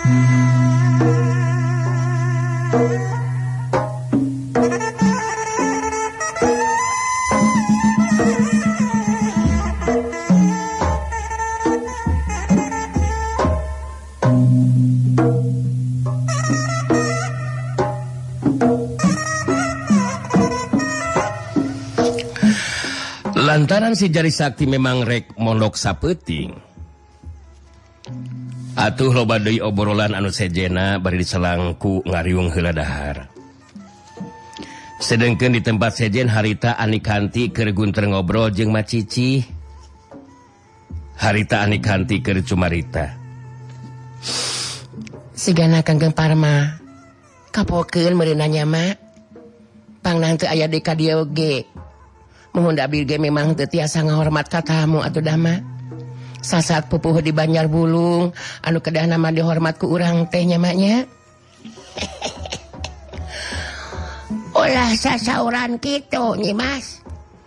Lantaran si Jari Sakti memang rek mondok sapeuting. Atuh loba deui obrolan anu sejena bari diselang ku ngariung heula dahar. Sedengkeun di tempat sejen harita Anikanti keur gunter ngobrol jeung Macici. Harita Anikanti keur cumarita. Sigana Kanggeng Parma kapokeun meureunna nya mak. Pangnang teu aya di ka dieu oge. Mohon abdi ge memang teu tiasa ngahormat ka tamu atuh dama. Sasaat pupuh di Banjar Bulung anu kedah nama dihormat ku urang teh nya maknya. Ulah sasauran kitu nyi Mas.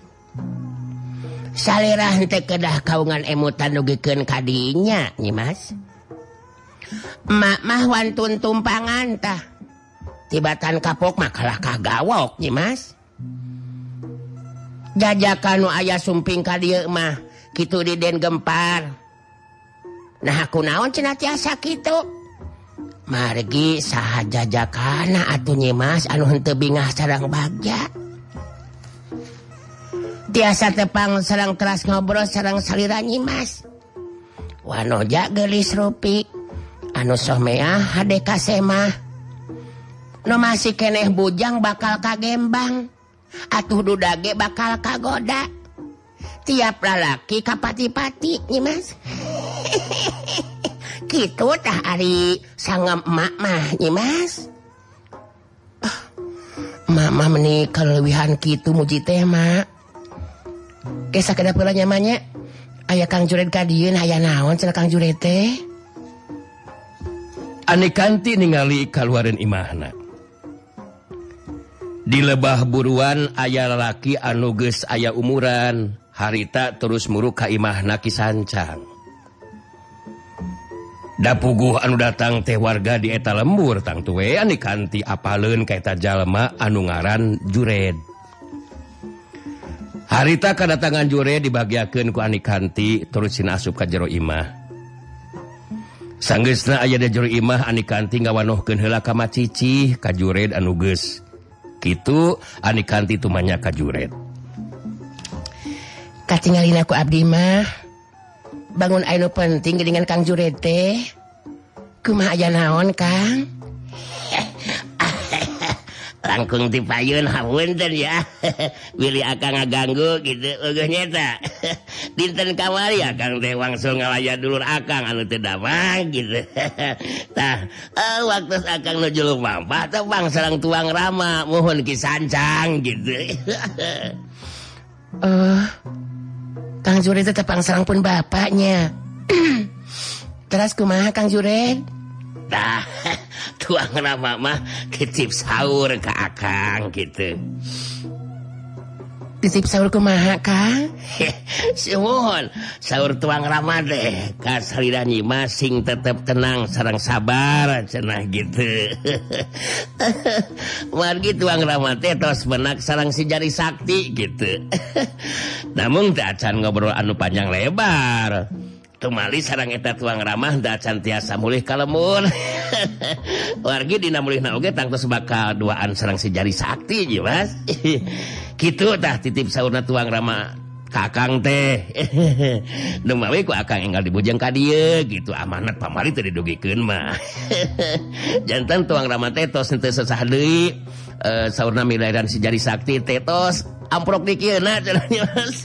Salirah teh kedah kaungan emutan nugikeun ka dinya nyi Mas. Mak mah wantun tumpangan tah. Tibatan kapok mah kalah kagawok nyi Mas. Jajakan nu aya sumping ka dieu mah kitu di Den Gempar. Nah kunaon cenah tiasa kitu? Margi saha jajakana atuh nyi Mas anu henteu bingah sareng bagja. Tiasa tepang sareng teras ngobrol sareng salira nyi Mas. Wanoja geulis rupi anu someah hade kasemah. Nu masih keneh bujang bakal kagembang. Atuh dudage bakal kagoda. Tiap lalaki kapati-pati nyi Mas. Kitu tah ari sangem emak mah nyi Mas. Emak mah meuni kaleuwihan kitu muji teh mak. Kesa kada pula nyamanya. Aya Kang Juret ka dieu aya naon cenah Kang Juret teh? Anikanti ningali kaluareun imahna. Di lebah buruan aya lalaki anu geus aya umuran. Harita terus muruk ka imahna Ki Sancang. Da puguh anu datang teh warga di eta lembur tang tuwe Anikanti apaleun ka eta jalma anu ngaran Jured. Harita kadatangan Jured dibagiakeun ku Anikanti terus sina asup ka jero imah. Sanggeusna aya di jero imah Anikanti ngawanohkeun heula ka Macici ka Jured anu geus. Kitu Anikanti tumanya ka Jured. Katingalin aku abdi mah. Bangun anu penting dengan Kang Jured teh. Kumaha aya naon Kang? Langkung dipayun hapunten ya. Willy akang ngaganggu gitu eueuh nyata. Dinten kamari akang teh wangsul ngalaya dulur akang anu teu damang gitu. Tah waktu akang nuju lumampah teh bang sareng tuang rama mohon Ki Sancang gitu. Kang Jured teh tepang sareng pun bapaknya. Terus kumaha Kang Jured? Nah, tuang rama mah titip sahur ke akang gitu. Titip sahur kumaha Kang? Suhun sahur tuang rama deh ka salira nyi Mas sing tetep tenang sareng sabar cenah gitu. Margi tuang rama teh tos benak sareng si Jari Sakti gitu. Namun teu acan ngobrol anu panjang lebar. Tumali sareng eta tuang ramah da can tiasa mulih ka lembur. Wargi dina mulihna oge tangtos bakal duaan sareng si Jari Sakti ieu Mas. Kitu tah titip saurna tuang ramah ka akang teh. Dumawi ku akang enggal dibujeng ka dieu gitu amanat pamari teu didugikeun mah. Janten tuang ramah teh tos teu sesah deui saurna milairan si Jari Sakti teh tos amprok dikieuna cenahnya Mas.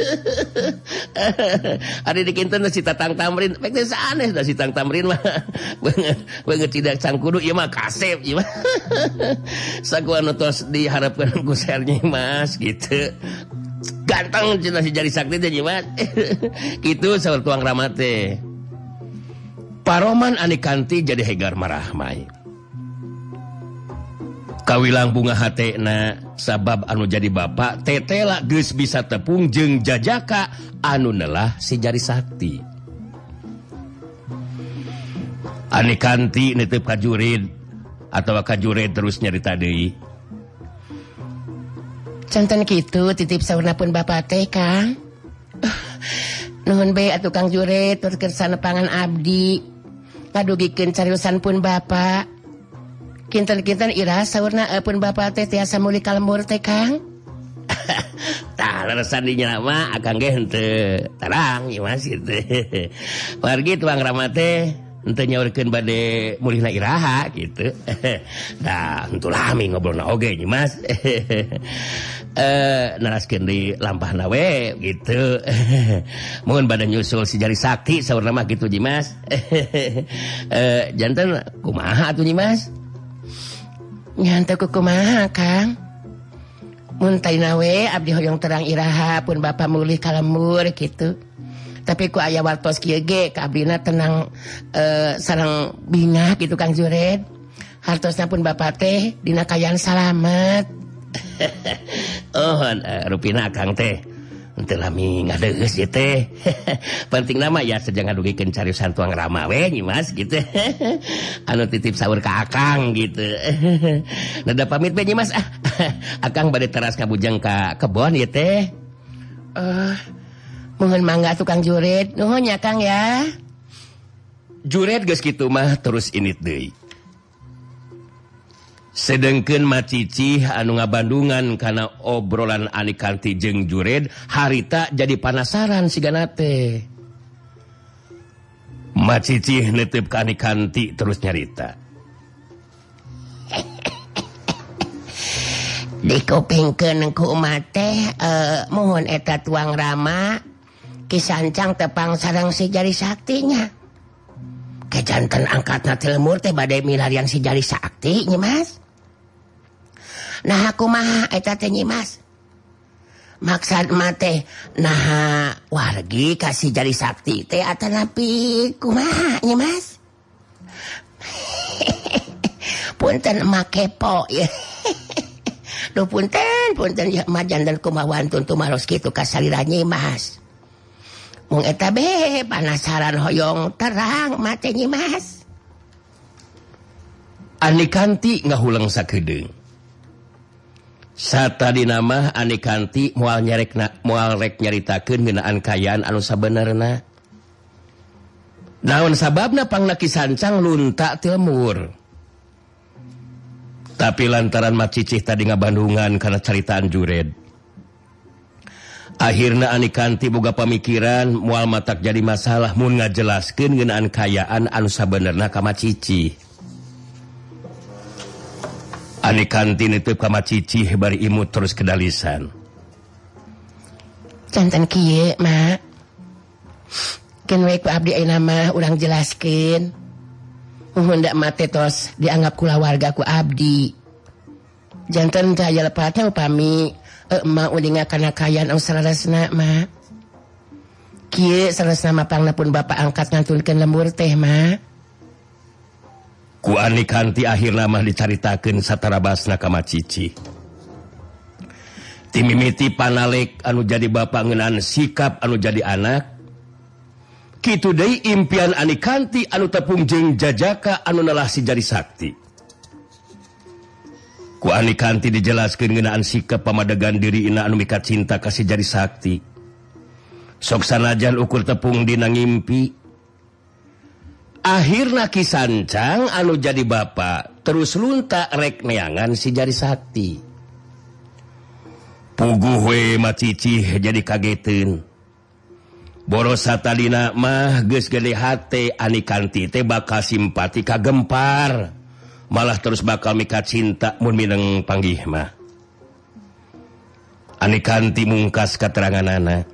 Ari dikinten si Tatang Tamrin, pek teh sanes da si Tatang Tamrin mah. Beungeut tidak cangkudu ieu mah kasep ieu mah. Sakuanu tos diharapkeun ku Sernyi Mas gitu. Ganteng cenah si Jari Sakti teh Mas. Kitu saur tuang rama teh. Paroman Anikanti jadi hegar marahmai. Kawilang bunga hatena sabab anu jadi bapak tetela geus bisa tepung jeung jajaka anu neulah si Jari Sakti. Ani kanti nitip ka jurid atau ka jurid terus nyarita deui. Canten kitu titip saurna pun bapak teh Kang. Nuhun bae atuh Kang jurid turkeun sanepangan abdi. Ngadugikeun cariusan pun bapak. Kinten-kinten ira saurna pun bapak teh tiasa muli kalembur teh Kang. Tah leresan di nyama akang ge henteu tarang ieu Mas kitu. Wargi tuang Rama teh henteu nyaurkeun bade mulihna iraha gitu. Nah, henteu lami ngobrolna oge nya Mas. Naraskeun di lampahna we gitu. Mun bade nyusul si Jari Sakti saurna mah kitu Ji Mas. Janten kumaha atuh Ji Mas? Nyanteu kumaha Kang? Mun taina we abdi hoyong terang iraha pun bapak mulih kalembur gitu. Tapi ku aya wartos kieu ge ka abdina tenang sareng bingah gitu Kang Jured. Hartosna pun bapak teh dina kayaan salamet. Oh, rupina akang teh henteu lami ngadeus ieu teh. Penting nama ya saja ngadugikeun cariusan tuang Rama we nya Mas gitu. Anu titip saur ka akang gitu. Nada pamit we nya Mas. Akang bade teras kabujang ka kebon ieu teh. Mohon mangga tukang Jured. Nuhun ya Kang ya. Jured geus kitu mah terus init deui. Sedengkeun Macici anu ngabandungan kana obrolan Ani Kanti jeung Jured, harita jadi panasaran sigana teh. Macici netep ka Ani Kanti terus nyarita. Dikupingkeun ku umah teh mohon eta tuang Rama kisancang tepang sareng si Jari Saktinya. Kejanten angkatna teh lemur teh bade milarian si Jari Sakti nya Mas. Nah kumaha eta teh nya Mas? Maksud mah teh nah wargi kasih Jari Sakti teh atanapi kumaha nya Mas? Punten emak kepo ya. Duh punten ya majan dan kumawan tuntu maros kitu kasalira nya Mas. Mung eta be panasaran hoyong terang mate nya Mas. Ani Kanti ngahulang sakedeung. Satadina mah Ani Kanti moal rek nyaritakeun ngeunaan kayaan anu sabenerna. Naon sababna pangna kisancang lunta teu lemur. Tapi lantaran Macicih tadi ngabandungan karena caritaan Jured. Akhirna Ani Kanti boga pamikiran moal matak jadi masalah mun ngajelaskeun ngeunaan kayaan anu sabenerna ka Macicih. Ani Kanti niteup ka Macicih bari imut terus kedalisan. Canten kieu mak. Keun we ku abdi ayeuna mah urang jelaskeun. Mun ndak mate tos dianggap kulawarga ku abdi. Janten cahaya lepatnya upami emak ulinga kana kayaan anu saresna mak. Kieu saresna mapangna pun bapak angkat ngantunkeun lembur teh mak. Ku Ani Kanti akhirna mah dicaritakeun satarabasna ka Macicih. Ti mimiti panalek anu jadi bapak ngeunaan sikap anu jadi anak. Kitu deui impian Ani Kanti anu tepung jeung jajaka anu nalah si Jari Sakti. Ku Ani Kanti dijelaskeun ngeunaan sikap pamadegan diriina anu mika cinta ka si Jari Sakti. Sok sanajan ukur tepung dina ngimpi. Akhirna kisancang anu jadi bapa terus lunta rek neangan si Jari Sakti. Puguh we Macicih jadi kageteun. Boros satadina mah geus gede hate Ani Kanti teh bakal simpati ka Gempar. Malah terus bakal mika cinta mun mineng panggih mah. Ani Kanti mungkas kateranganana.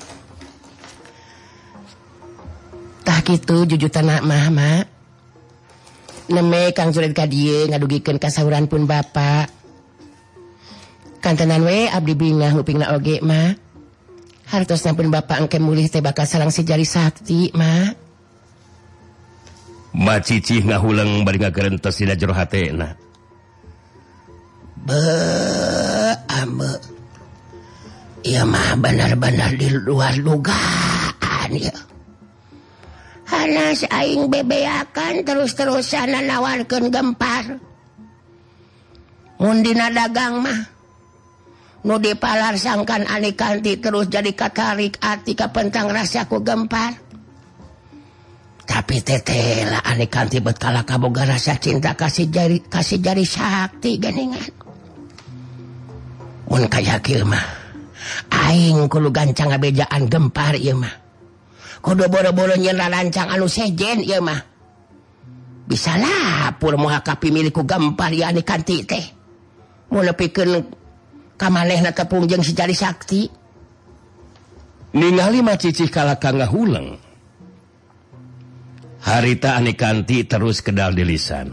Tah kitu jujutanna mah mak. Neme Kang Jured ka dieu ngadugikeun kasauran pun bapak. Kantenan we abdi bingah upingna oge mak. Hartosna pun bapak engke mulih teh bakal sareng si Jari Sakti mak. Macicih ngahulang bari ngagerentos dina jero hatena. Ambe. Ieu mah benar-benar di luar dugaan ya. panas aing bebeakan terus-terusan nawarkeun Gempar. Mun dina dagang mah nu dipalarsangkan Ani Kanti terus jadi katarik ati ka pentang rasa ku Gempar. Tapi tetela Ani Kanti bet kala kaboga rasa cinta kasih jari sakti geningan. Mun kaya kieu mah aing kudu gancang ngabejaan Gempar ieu mah. Kudu boro-boro nyeun rarancang anu sejen ieu mah. Bisa lapur moal kapimilih ku Gempar ieu Ani Kanti teh. Mun nepikeun ka manehna tepung jeung si jari sakti. Ningali mah cicih kalaka ngahuleng. Harita Ani Kanti terus kedal di lisan.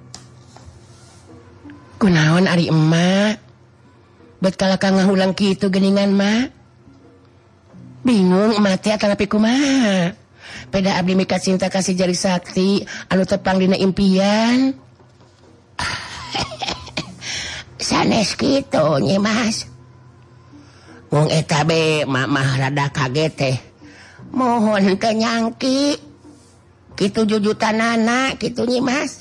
Kunaon ari emak? Bet kalaka ngahulang kitu geuningan mah. Bingung emak teh atanapi kumaha. Peda abdi mika cinta kasih jari sakti anu tepang dina impian. Sanes kitu nya Mas. Wong eta be mah rada kaget teh. Mohon teu nyangki. Kitu jujutanana kitu nya Mas.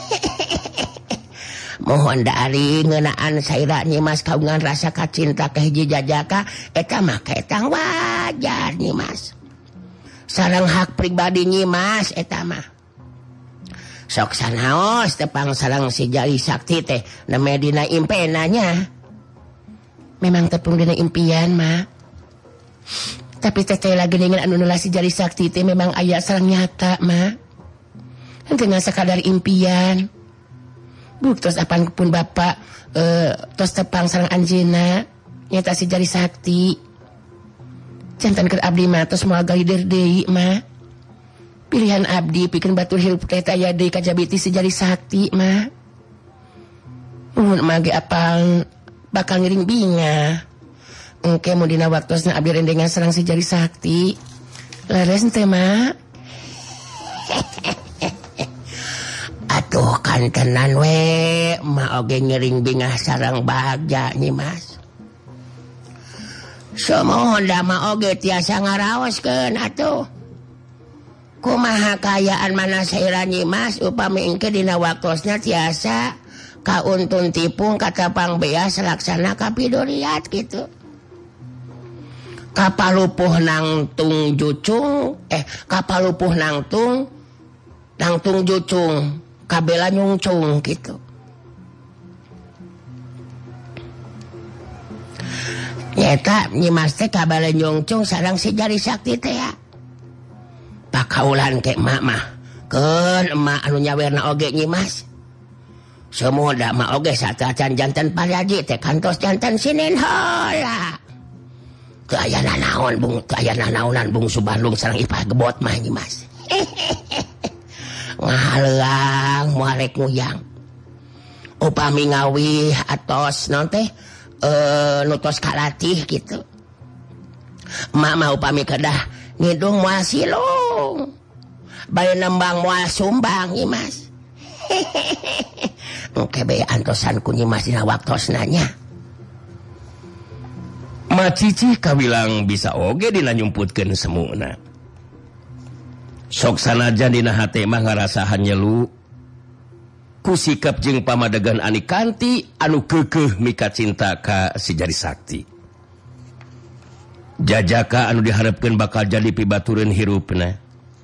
Mohon dari ngeunaan saira nya Mas kagungan rasa kacinta ka hiji jajaka eta mah ketang wajar nya Mas. Sareng hak pribadi nya Mas eta mah. Sok sanaos tepang sareng si jari sakti teh neme dina impenanya. Memang tepung dina impian mah. Tapi teteh lagi dengan anu nulah si jari sakti teh memang aya sareng nyata mah. Henteu sakadar impian. Buktos apan pun bapak tos tepang sareng anjeunna nyata si jari sakti. Jantan keur abdi mah tos moal galider deui mah. Pilihan abdi pikeun batur hirup teh aya deui kajabiti si jari sakti mah. Mun mah ge apal bakal ngiring binga. Engke mun dina waktosna abdi rendengan sareng si jari sakti. Leres teh mah. Atuh kan tenan we mah oge ngiring bingah sareng Bagja nih Mas. Samohon da mah oge tiasa ngaraoskeun atuh. Kumaha kayaan mana saira nyi Mas upami engke dina waktosna tiasa kauntun tipung katapang beas laksana kapidoriat gitu. Kapalupuh nangtung jucung kapalupuh nangtung jucung kabela nyungcung gitu. Nyata Nyi Mas teh kabela nyungcung sareng si jari sakti teh ya. Pakaulan ke emak mah keun emak anu nyawerna oge Nyi Mas. Semoda mah oge satacan janten paraji teh kantos janten Sinin heula. Teu aya nanaon naonan bungsu Bandung sareng Ipah Gebot mah Nyi Mas. Ngahalang muarek nguyang. Upami ngawih atos naon teh nutos kalatih gitu. Emak mah upami kedah ngidung moal silung. Bae nembang moal sumbang Nyi Mas. Engke bae antosan ku Nyi Mas dina waktosna nya. Macicih kawilang bisa oge dina nyumputkeun semuna. Sok sanajan dina hate mah ngarasahan nyelu ku sikap jeung pamadegan Ani Kanti anu keukeuh mika cinta ka si jari sakti. Jajaka anu diharapkeun bakal jadi pibatureun hirupna.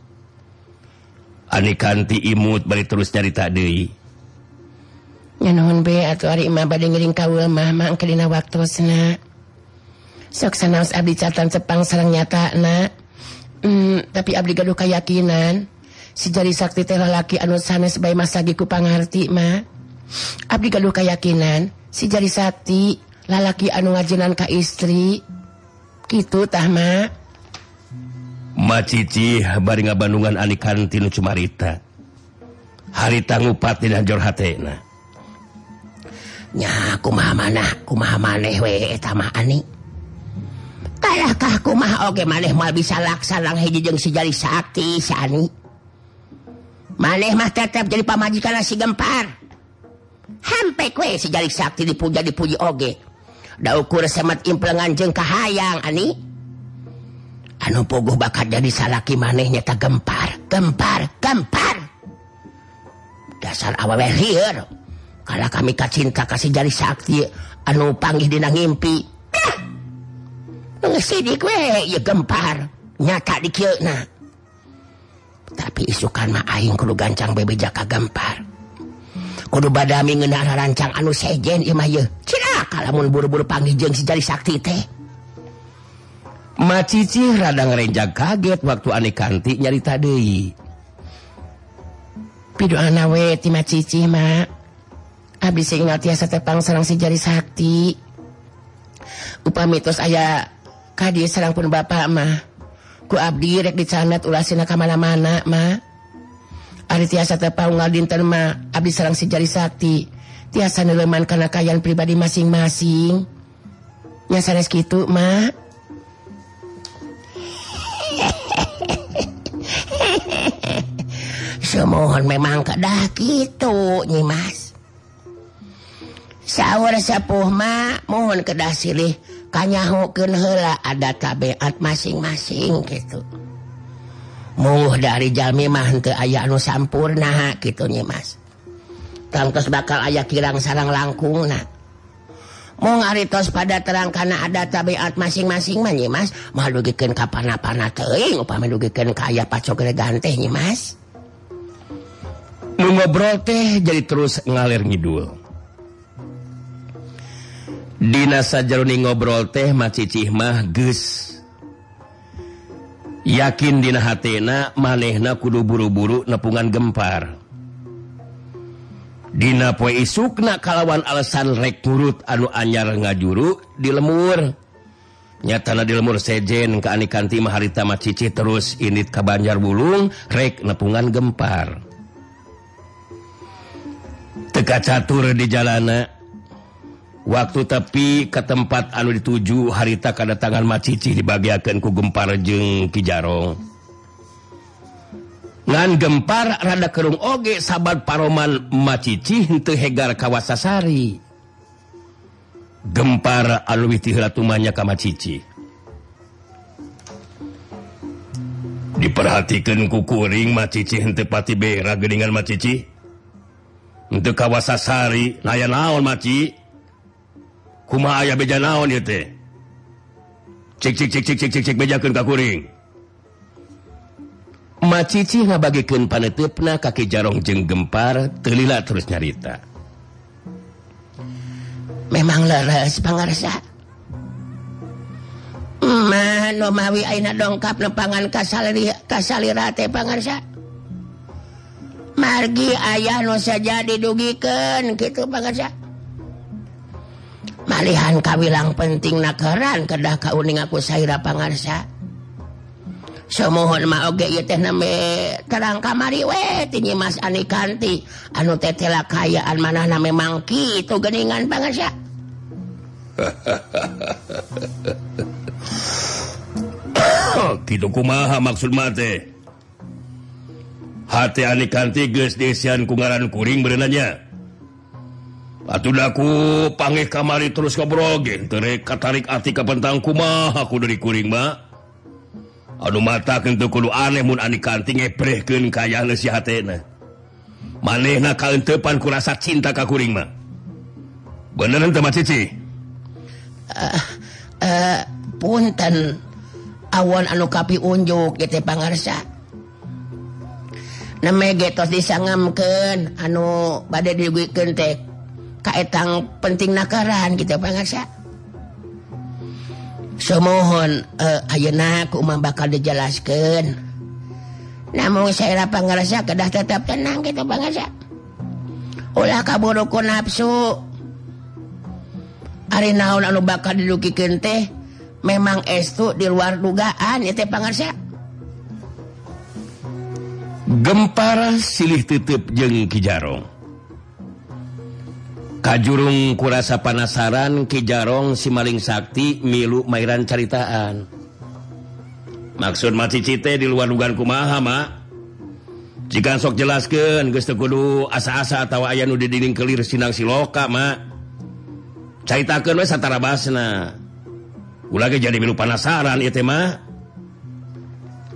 Ani Kanti imut bari terus nyarita deui. Nya nuhun be atuh ari imah bade ngiring kaula mah engke dina waktosna. Sok sanaos abdi catan cepang sareng nyatana. Tapi abdi gaduh kayakinan si jari sakti teh lalaki anu sanes bae masagi ku pangarti mah. Abdi gaduh kayakinan si jari sakti lalaki anu ngajenan ka istri. Kitu tah mah. Macicih bari ngabandungan Ani Kanti nu cumarita. Harita ngupat dina jor hatena. Nya kumaha maneh we eta mah Ani. Kalahkah kumaha oge maneh moal bisa laksana hiji jeung si jari sakti si Ani. Maneh mah tetep jadi pamajikan si Gempar. Hampek we si jari sakti dipuji oge. Da ukur semat implengan jeung kahayang Ani. anu puguh bakal jadi salaki maneh nyata Gempar. Dasar awewe lieur. Kala kami kacinta kasih jari sakti anu panggih dina ngimpi. Ngesidik we ya Gempar. Nyata di kieuna. Tapi isukan mah aing kudu gancang bebeja ka Gempar. Kudu badami ngeunah rancang anu sejen ieu mah yeuh. Cilaka lamun buru-buru panggih jeung si jari sakti teh. Macici rada ngarenjag kaget waktu Ani Kanti nyarita deui. Pidoana we ti Macici mak. Abdi ingat tiasa tepang sareng si jari sakti. Upami tos aya ka dieu sareng pun bapak mah. Ku abdi rek dicandat ulasina ka mana-mana mah. Ari tiasa tepang unggal dinten mah abdi sareng si jari sakti. Tiasa neuleman kana kayan pribadi masing-masing. Nya sanes kitu mah. Semohon memang kedah gitu Nyimas. Saur sepuh mah mohon kedah silih kanyahukeun heula ada tabiat masing-masing gitu. Muh dari jalmi mah henteu aya anu sampurna gitu Nyimas. Tangtos bakal aya kirang sareng langkungna. Mung ari tos pada terang kana ada tabiat masing-masing mah Nyimas, mah dugikeun ka pana-pana teuing upami dugikeun ka aya pacok regan teh Nyimas. Nu ngobrol teh jadi terus ngalir ngidul. Dina sajaroni ngobrol teh Macicih mah geus yakin dina hatena manehna kudu buru-buru nepungan Gempar. Dina poe isukna kalawan alasan rek nurut anu anyar ngajuru di lemur. Nyatana di lemur sejen ka Ani Kanti mah harita Macicih terus init ka Banjarbulung rek nepungan Gempar. Teka catur di jalana. Waktu tepi ke tempat anu dituju harita kadatangan Macicih dibagiakeun ku Gempar jeung Ki Jarong. Ngan Gempar rada kerung oge sabad paroman Macicih henteu hegar ka Wasasari. Gempar anu witih heula tumanya ka Macicih. Diperhatikeun ku kuring Macicih henteu pati bera geuningan Macicih. Henteu ka Wasasari, aya naon Maci? Kumaha aya beja naon ieu teh? Cik bejakeun ka kuring. Macicih ngabagikeun paneteupna ka Ki Jarong jeung Gempar, teu lila terus nyarita. Memang leres pangarsa. Nu mawi ayeuna dongkap nepangan kasalira teh pangarsa. Margi ayah nu saja didugikeun kitu pangarsa. Malihan kawilang penting nakeran kedah kauning aku saira pangarsa. Semohon mah oge ieu teh nembe terang kamari we ti Nyimas Ani Kanti anu teh telakayaan manahna memang kitu geuningan pangarsa. Kitu kumaha maksud mah teh? Hati Ani Kanti geus desian ku ngaran kuring berenanya. Atuh daku panggih kamari terus ngobrol ge teu rek katarik ati ka pentang kumaha ku dari kuring mah. Anu mata teu kudu aneh mun Ani Kanti ngeprehkeun kayaeuna si hatena. Manehna kaenteupan ku rasa cinta ka kuring mah. Beneran teu Macicih? Punten awon anu kapi unjuk ge teh pangarsa. Neme getos disangamkeun anu bade digikeun teh kaetang penting nakaran kita pangarsa. Semohon ayeuna kumaha bakal dijelaskeun. Namun saira pangarsa kedah tetap tenang kita pangarsa. Ulah kaburu ku nafsu. Ari naon anu bakal didugikeun teh memang estu di luar dugaan ieu teh pangarsa. Gempar silih teuteub jeung Ki Jarong. Kajurung kurasa panasaran Ki Jarong si maling sakti milu mairan caritaan. Maksud Macicih teh di luar dugaan kumaha mak? Jika sok jelaskeun geus teu kudu asa-asa atawa aya nu didinding kelir sinang siloka mak. Caritakeun we satara basna. Ulah ge jadi milu panasaran ieu teh mah.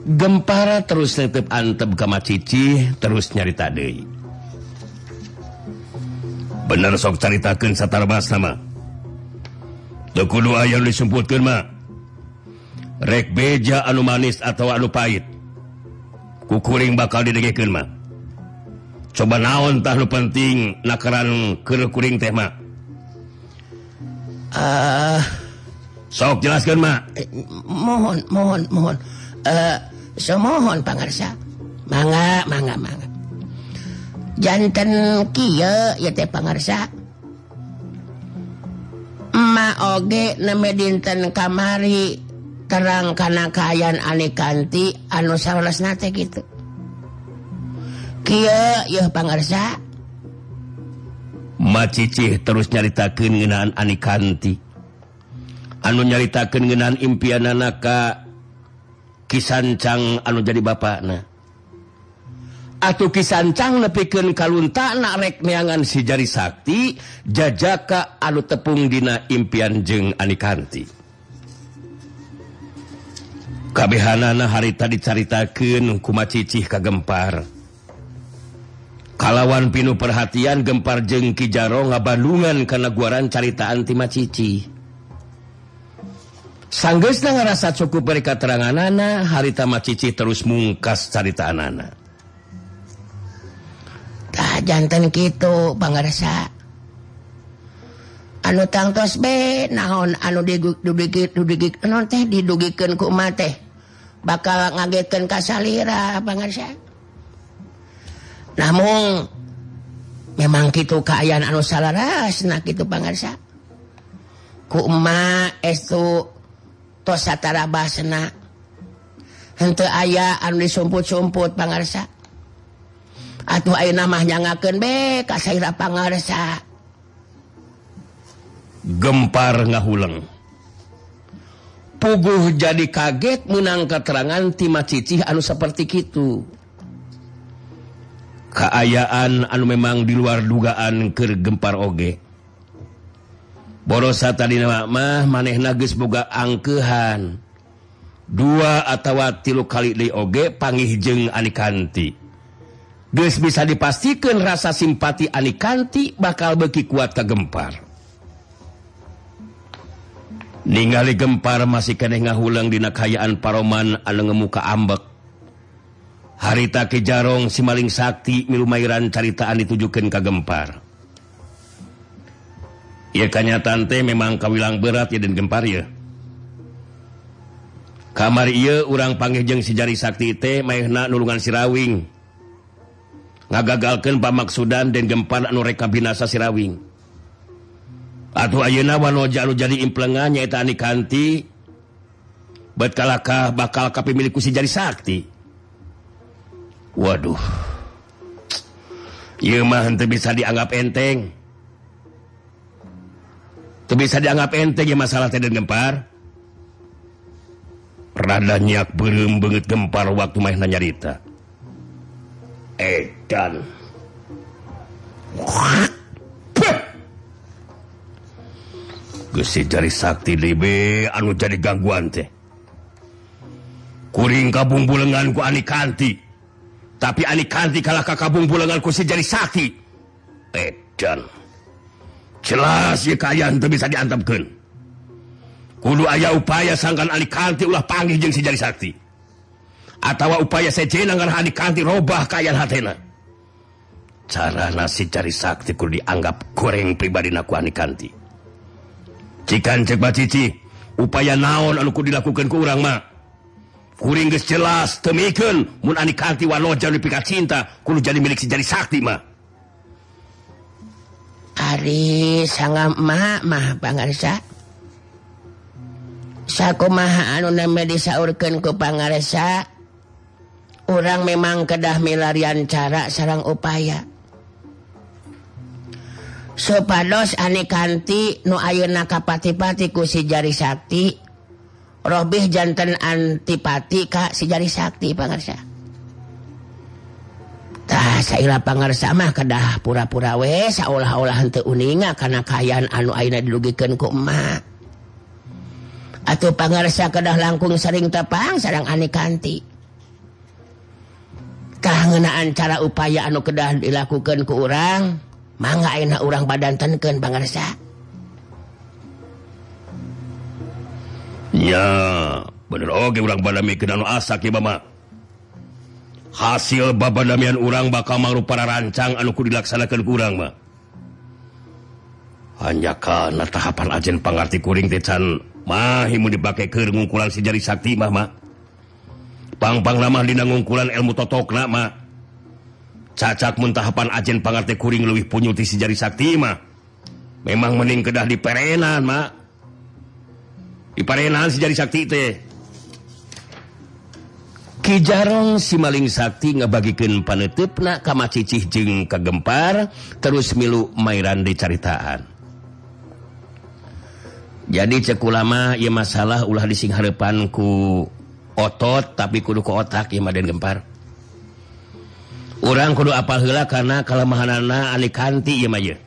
Gempar terus tetep antep ka Macici terus nyarita deui. Bener sok caritakeun satarabasna mah. Teu kudu aya nu disumputkeun mah. Rek beja anu manis atau anu pahit. Kukuring bakal didengekeun mah. Coba naon tah nu penting nakaran keur kuring teh mah. Sok jelaskeun mah. Mohon. Semohon pangarsa. Mangga. Janten kieu ya teh pangarsa. Ma oge neme dinten kamari terang kana kaayaan Anikanti anu sarolosna teh kitu. Kieu yeuh pangarsa. Macici terus nyaritakeun ngeunaan Anikanti. Anu nyaritakeun ngeunaan impianana ka Kisancang anu jadi bapakna. Atuh Kisancang nepikeun kaluntana rek neangan si Jari Sakti jajaka anu tepung dina impian jeung Anikanti. Kabehanana harita dicaritakeun ku Macici ka Gempar. Kalawan pinu perhatian Gempar jeung Ki Jaro ngabandungan kana guaran caritaan ti Macici. Sanggeusna ngarasa cukup beri kateranganana, harita Macici terus mungkas caritaanana. Tah janten kitu pangarsa. Anu tangtos be naon anu didugikeun ku emak teh bakal ngagetkeun ka salira pangarsa. Namun memang kitu kaayaan anu salarasna kitu pangarsa. Ku emak estu tos satarabasna henteu aya anu disumput-sumput pangarsa. Atuh ayeuna mah nyangakeun be ka saira pangarsa. Gempar ngahuleng. Puguh jadi kaget meunang keterangan ti Macici anu saperti kitu. Kaayaan anu memang di luar dugaan keur Gempar oge. Borosa tadina mah manehna geus boga angkeuhan 2 atawa 3 kali deui oge panggih jeung Anikanti. Geus bisa dipastikeun rasa simpati Anikanti bakal beuki kuat ka Gempar. Ningali Gempar masih keneh ngahulang dina kaayaan paroman anu ngemuka ambek. Harita Ki Jarong si Maling Sakti milumairan caritaan ditujukeun ka Gempar. Ya kanyataan teh memang kawilang berat ya dan Gempar ya. Kamari ieu urang panggih jeung si Jari Sakti teh maehna nulungan si Rawing. Ngagagalkeun pamaksudan dan Gempar anu rek kabinasa si Rawing. Atuh ayeuna wanoja anu jadi implengan nyaeta Anikanti bet kalakah bakal kapimilih ku si Jari Sakti. Waduh. Ieu mah henteu bisa dianggap enteng. Teu bisa dianggap enteng ya masalah teh dan Gempar. Rada nyak beureum beungeut Gempar waktu maehna nyarita. Edan. Geus si Jari Sakti deui be anu jadi gangguan teh. Kuring kabungbulengan ku Anikanti. Tapi Anikanti kalah ka kabungbulengan ku si Jari Sakti. Edan. Jelas ya kaayaan teu bisa diantepkeun. Kudu aya upaya sangkan Anikanti ulah panggih jeung si Jari Sakti. Atawa upaya sejena ngarah Anikanti robah kaayaan hatena. Carana si Jari Sakti kudu dianggap goreng pribadina ku Anikanti. Cikan cek Macici, upaya naon anu kudu dilakukeun ku urang mah. Kuring geus jelas teu mikeun mun Anikanti wanoja nepi ka cinta kudu jadi milik si Jari Sakti mah. Ari sangga mah pangarsa. Sakumaha anu neme disaurkeun ku pangarsa, urang memang kedah milarian cara sareng upaya. Supados Anikanti nu ayeuna kapati-pati ku si Jari Sakti, robih janten antipati ka si Jari Sakti pangarsa. Tah saira pangarsa mah kedah pura-pura we saolah-olah henteu uninga kana kaayaan anu ayeuna dilugikeun ku emak. Atuh pangarsa kedah langkung sering tepang sareng Anikanti. Kahenaan cara upaya anu kedah dilakukan ku urang mangga ayeuna urang badantenkeun pangarsa. Ya bener oge urang badamikeun anu asa kieu mah. Hasil babadamian urang bakal mangrupa rancang anu kudu dilaksanakeun ku urang mah. Hanya kana tahapan ajen pangarti kuring teh can mahimu dipake keur ngungkulan si jari sakti mah. Pang-pang mah dina ngungkulan ilmu totokna mah. Cacak mun tahapan ajen pangarti kuring leuwih punyu ti si jari sakti mah. Memang mending kedah diperenan mah. Diparenan si jari sakti teh. Ki Jarong si maling sakti ngabagikeun paneutupna ka Macicih jeung ka Gempar terus milu mairan dicaritaan. Jadi cek ulama ieu masalah ulah disinghareupan ku otot tapi kudu ku otak ieu mah Den Gempar. Urang kudu apal heula kana kalemahanana ani kanti ieu mah ye.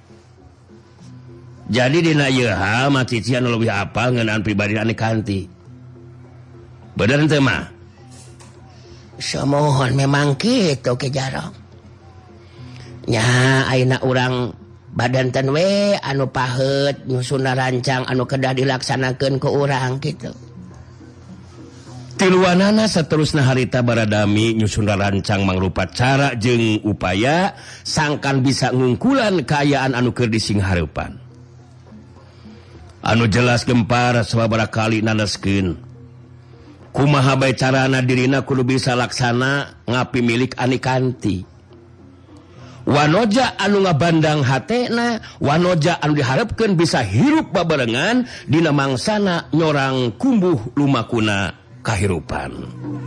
Jadi dina ieu hal Macicih anu leuwih apal ngeunaan pribadi ani kanti. Bener teu mah? Samohon memang kitu Ki Jarong. Nya ayeuna urang badanten we anu paheut nyusunna rancang anu kedah dilaksanakeun ku urang kitu. Tiluanana saterusna harita baradami nyusun rancang mangrupa cara jeung upaya sangkan bisa ngungkulan kaayaan anu keur disinghareupan. Anu jelas Gempar sababaraha kali naneskeun kumaha bae carana dirina kudu bisa laksana ngapi milik ani kanti. Wanoja anu ngabandang hatena, wanoja anu diharapkeun bisa hirup babarengan dina mangsana nyorang kumbuh lumakuna kahirupan.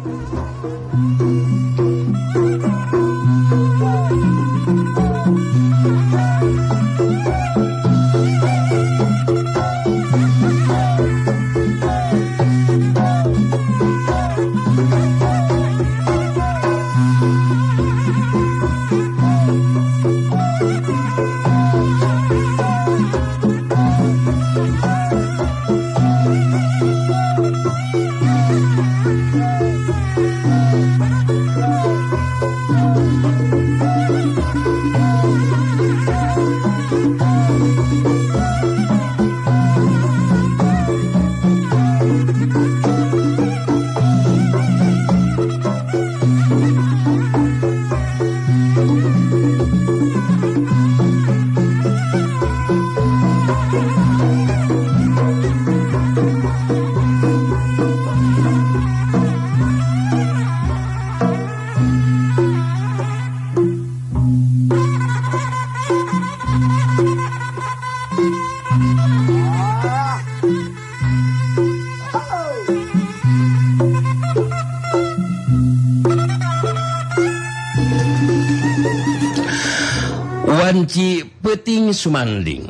Wanci Peting Sumanding.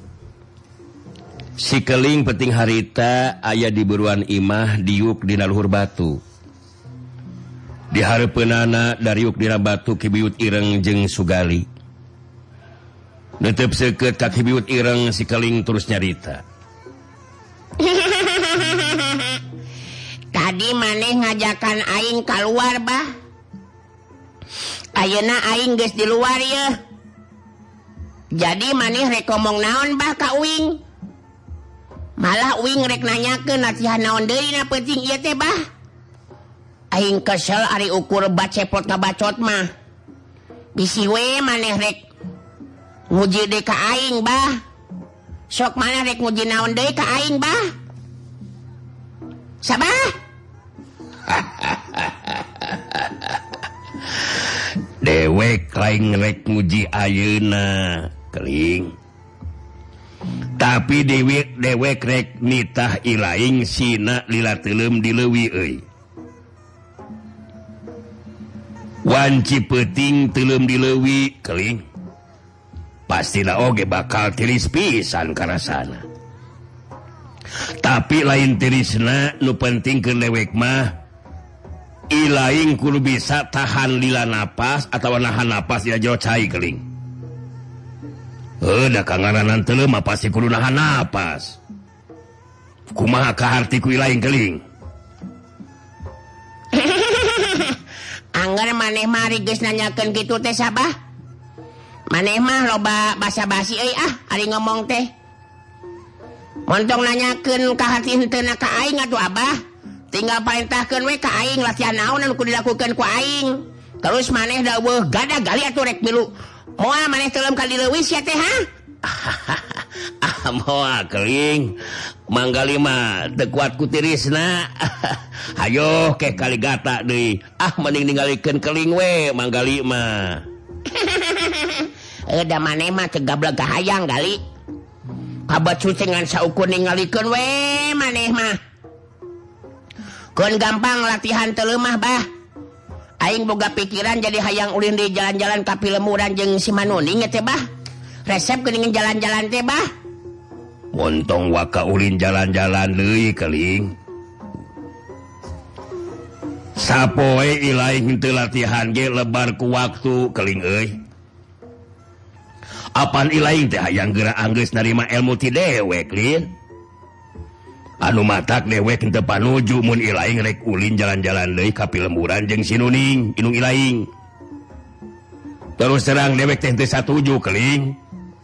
Si keling peting harita aya di buruan imah diuk dina luhur batu. Di hareupeunana dariuk dina batu kibiut ireng jeung Sugali. Neuteub seukeut ka kibiut ireng si keling terus nyarita. Tadi maneh ngajakan aing keluar bah. Ayeuna aing geus di luar ye. Jadi maneh rek ngomong naon bah ka uing? Malah uing rek nanyakeun nasihan naon deui na peuting ieu teh bah. Aing kesel ari ukur bacepot ngabacot mah. Bisi we maneh rek nguji deui ka aing bah. Sok maneh rek nguji naon deui ka aing bah. Sabah? Dewek lain rek nguji ayeuna keling. Tapi dewek rek nitah ilaing sina lila teuleum dileuwi euy. Wanci Peuting teuleum dileuwi keling. Pastina oge bakal tiris pisan karasana. Tapi lain tirisna nu pentingkeun dewek mah ilaing kudu bisa tahan lila napas atau nahan napas ya jero cai keling. Da kangaranan teuleum mah pasti kudu nahan napas. Kumaha kaharti ku ilaing keling? Angger maneh mah geus nanyakeun kitu teh sabah? Maneh mah loba basa-basi euy ari ngomong teh. Montong nanyakeun ka hati henteu ka aing atuh Abah. Tinggal parentahkeun we ka aing latihan naon anu kudu dilakukeun ku aing. Terus maneh daweuh gadah gali atuh rek milu. Moal maneh teuleum ka dileuwis ya teh ha? Moal keling. Manggali mah teu kuat ku tirisna. Hayo ke kaligata deui. Mending ningalikeun keling we manggali mah. Da maneh mah teu gablek hayang gali. Kabat sucengan saukur ningalikeun we maneh mah. Keun gampang latihan teu leumah bah. Aing boga pikiran jadi hayang ulin di jalan-jalan ka Pilemuran jeung si Manuning teh bah. Resep geuningan jalan-jalan teh bah. Montong waka ulin jalan-jalan deui keling. Sapoe ilaing teu latihan ge lebar ku waktu keling euy. Apan ilaing teh hayang geura anggeus narima ilmu ti dewek lin. Anu matak dewek henteu panuju mun ilaing rek ulin jalan-jalan deui ka Pilemuran jeung si Nuning inung ilaing. Terus terang dewek teh teu satuju keling.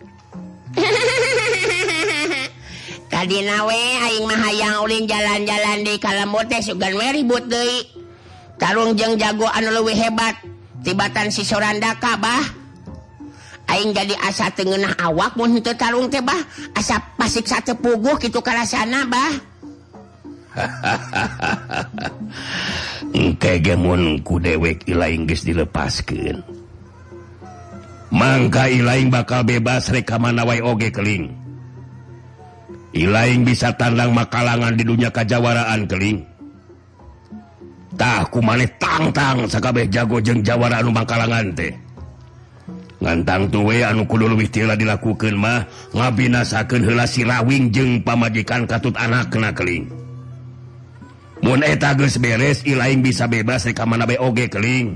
Kadina we aing mah hayang ulin jalan-jalan di Kalembur teh sugan we ribut deui. Tarung jeung jago anu leuwih hebat tibatan si Sorandaka bah. Aing jadi asa teu ngeunah awak mun henteu tarung teh bah. Asa pasiksa teu puguh kitu karasana bah. Engke ge mun ku dewek ilaing geus dilepaskeun. Mangka ilaing bakal bebas rek ka mana wae oge keling. Ilaing bisa tandang makalangan di dunia kajawaraan keling. Tah kumaneh tangtang sakabeh jago jeung jawara anu makalangan teh. Ngantang tuwe anu kudu leuwih tila dilakukeun mah ngabinasakeun heula si Rawing jeung pamajikan katut anakna keling. Mun eta geus beres ilaing bisa bebas rek ka mana bae oge keling.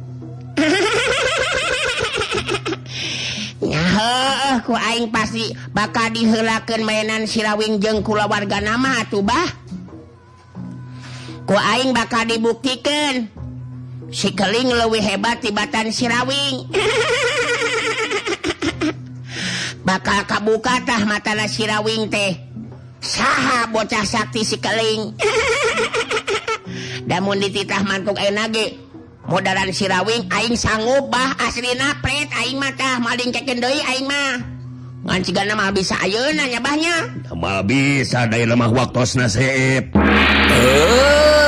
Nyah ku aing pasti bakal diheulakeun mainan si Rawing jeung kulawargana mah atuh bah. Ku aing bakal dibuktikeun si Keling leuwih hebat tibatan si Rawing. Bakal kabuka tah matana si Rawing teh. Saha bocah sakti si Keling. Da mun dititah mantuk ayeuna ge modaran si Rawing aing sanggup bah aslina pret aing mah tah maling kekeun deui aing mah. Ngan cigana mah bisa ayeuna nya bahnya. Mal bisa dayeuna mah waktosna seep.